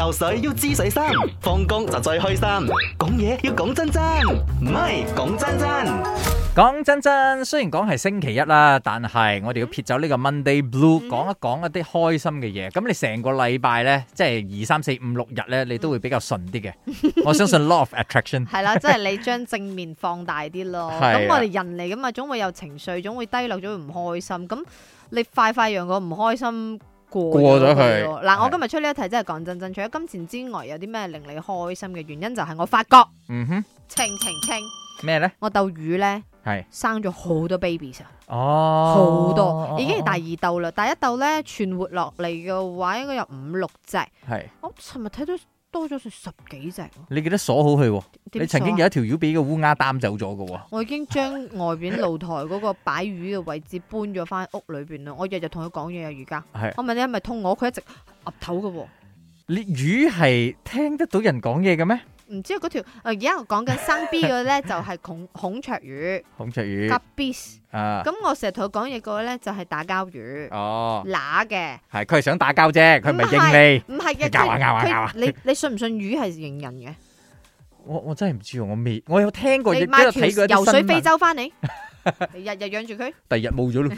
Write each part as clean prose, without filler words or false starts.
游水要知水深，放工就最開心。講嘢要講真真，唔係講真真。 講真真，雖然講係星期一啦，但係我哋要撇走呢個 Monday Blue，講一講一啲開心嘅嘢。咁你成個禮拜咧，即係2、3、4、5、6日咧，你都會比較順啲嘅。我相信 Law of Attraction 係啦，即係你將正面放大啲咯。咁我哋人嚟噶嘛，總會有情緒，總會低落，總會唔開心。咁你快快讓個唔開心過咗去。嗱，我今日出呢一題真係講真真，除咗金錢之外，有啲咩令你開心嘅原因？就係我發覺，清咩咧？ 我鬥魚咧。 係生咗好多 babies 啊！ 好多，已經係第二竇啦。第一竇咧存活落嚟嘅話，應該有5、6隻。係，我尋日睇到多咗成10幾隻。你記得鎖好佢？你曾經有一條魚俾個烏鴉擔走咗嘅。我已經將外邊露台嗰個擺魚嘅位置搬咗翻屋裏邊啦。我日日同佢講嘢啊，而家。我問你係咪通我？佢一直岌頭嘅。你魚係聽得到人講嘢嘅咩？唔知嗰條而家我講緊生 B 嘅咧就係孔雀魚，甲 B 咁我成日同佢講嘢個咧就係打交魚，乸嘅係佢係想打交啫，佢唔係應你，唔係嘅，咬你信唔信魚係認人嘅？我真係唔知喎，我有聽過，亦都有睇過啲新聞。游水非洲翻嚟，日日養住佢，第日冇咗咯。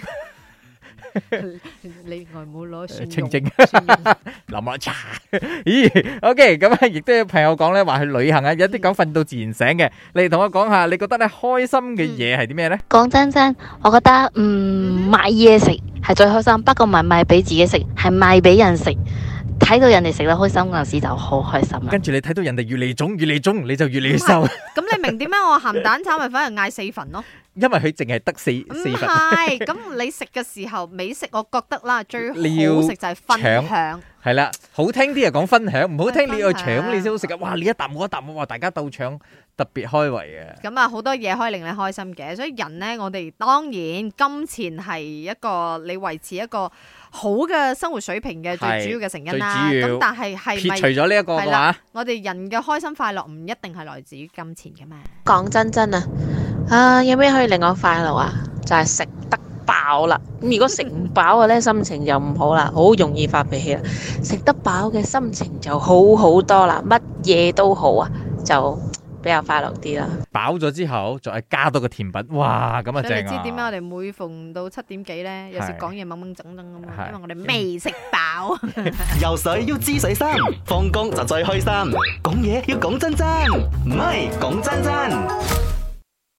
你外母攞清蒸，淋落茶。咦？OK， 咁啊，亦都有朋友講咧，話去旅行啊，有啲講瞓到自然醒嘅。你同我講下，你覺得咧開心嘅嘢係啲咩咧？講真真，我覺得買嘢食係最開心，不過唔係買俾自己食，係買俾人食。睇到人哋食得開心嗰陣時就好開心啦。跟住你睇到人哋越嚟腫，你就越嚟越瘦。咁你明點解我鹹蛋炒米粉係嗌4份咯？因為佢淨係得四份。唔係，咁你食嘅時候美食，我覺得啦最好食就係分享。係啦，好聽啲就講分享，唔好聽你去搶你先好食啊！哇，你一啖我一啖，哇，大家鬥搶，特別開胃啊！咁啊，好多嘢可以令你開心嘅，所以人呢，我哋當然金錢係一個你維持一個好嘅生活水平嘅最主要嘅成因啦。咁但係係咪撇除咗呢一個嘅話，我哋人嘅開心快樂唔一定係來自於金錢嘅嘛？講真真啊，有咩可以令我快樂啊？就係食得飽啦。咁如果食唔飽嘅咧，心情就唔好啦，好容易發脾氣啦。食得飽嘅心情就好好多啦，乜嘢都好啊，就比較快樂啲啦。飽咗之後，再加多個甜品，哇，咁啊正啊！你知點解我哋每逢到7點幾咧，有時講嘢掹掹整整咁啊？因為我哋未食飽。 游水要知水深，放工就最開心。講嘢要講真真，唔係講真真。